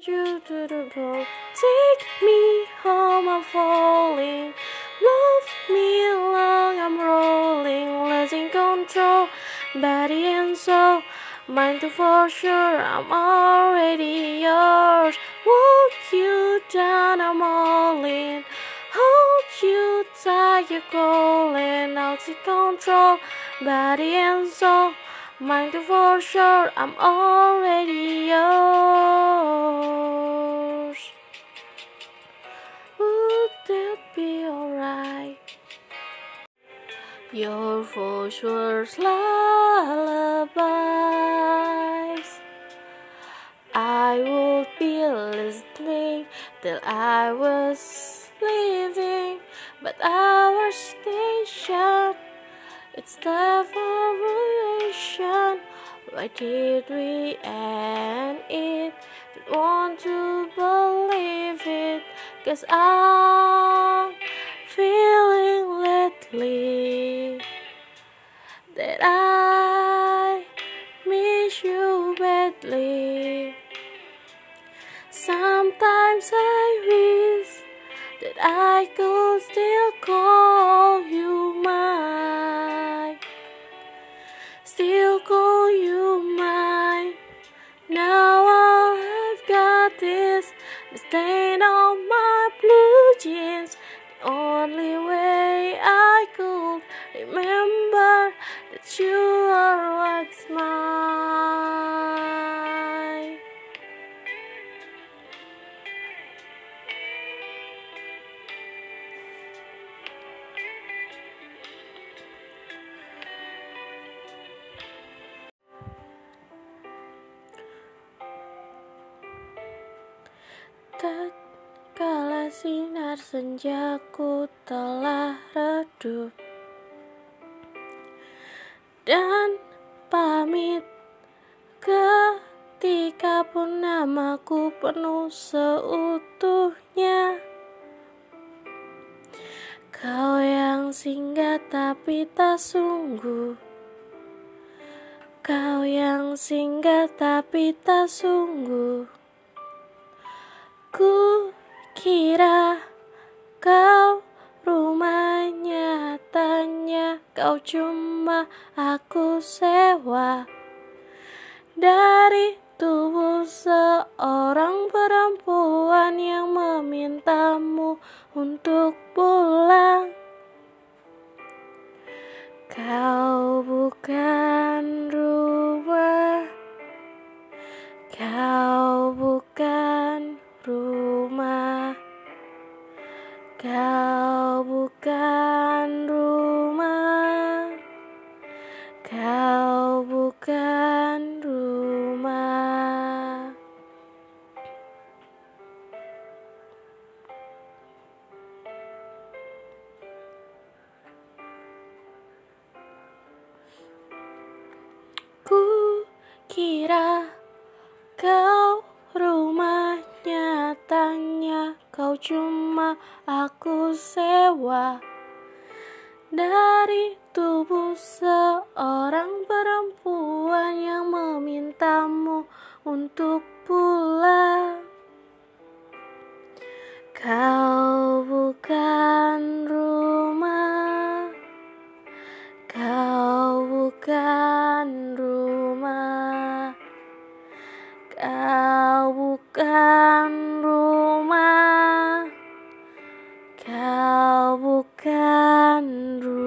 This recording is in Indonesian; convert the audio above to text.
you to the bone. Take me home, I'm falling. Love me long, I'm rolling. Losing control, body and soul. Mind to for sure, I'm already yours. Walk you down, I'm all in. Hold you tight, you're calling. I'll take control, body and soul. Mind to for sure, I'm already yours. Would that be alright? Your voice was lullabies. I would be listening till I was leaving, but our station, it's the variation. Why did we end it? Don't want to believe it, 'cause I'm feeling lately that I miss you badly. Sometimes I wish that I could still call you mine, still call you mine. Now all I've got is the stain on my blue jeans. The only way I could remember that you are what's mine. Tatkala sinar senjaku telah redup dan pamit, ketika pun namaku penuh seutuhnya, kau yang singgah tapi tak sungguh, kau yang singgah tapi tak sungguh. Ku kira kau rumahnya, nyatanya kau cuma aku sewa dari tubuh seorang perempuan yang memintamu untuk pulang. Kau bukan rumah, kau bukan rumah, kau bukan rumah, kau bukan rumah. Ku kira kau rumah, nyatanya kau cuma aku sewa dari tubuh seorang perempuan yang memintamu untuk pulang. Kau bukan rumah, kau bukan rumah, kau bukan rumah, kau bukan rumah.